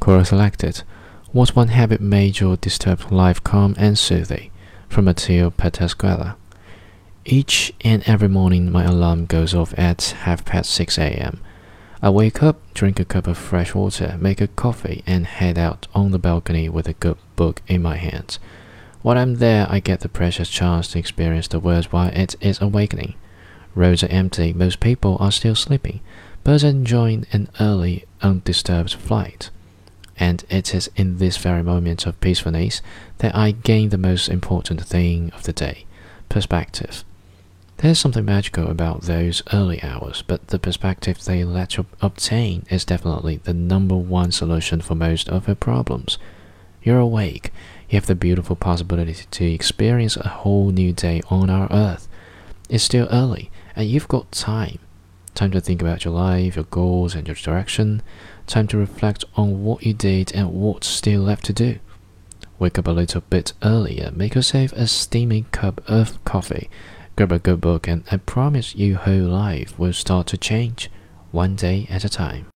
Quora selected. What one habit made your disturbed life calm and soothing? From Matteo Patasquella. Each and every morning my alarm goes off at 6:30 a.m. I wake up, drink a cup of fresh water, make a coffee, and head out on the balcony with a good book in my hands. While I'm there, I get the precious chance to experience the world while it is awakening. Roads are empty, most people are still sleeping. Birds are enjoying an early, undisturbed flight. And it is in this very moment of peacefulness that I gain the most important thing of the day: perspective. There's something magical about those early hours, but the perspective they let you obtain is definitely the number one solution for most of your problems. You're awake, you have the beautiful possibility to experience a whole new day on our earth. It's still early, and you've got time. Time to think about your life, your goals, and your direction. Time to reflect on what you did and what's still left to do. Wake up a little bit earlier, make yourself a steaming cup of coffee, grab a good book, and I promise your whole life will start to change, one day at a time.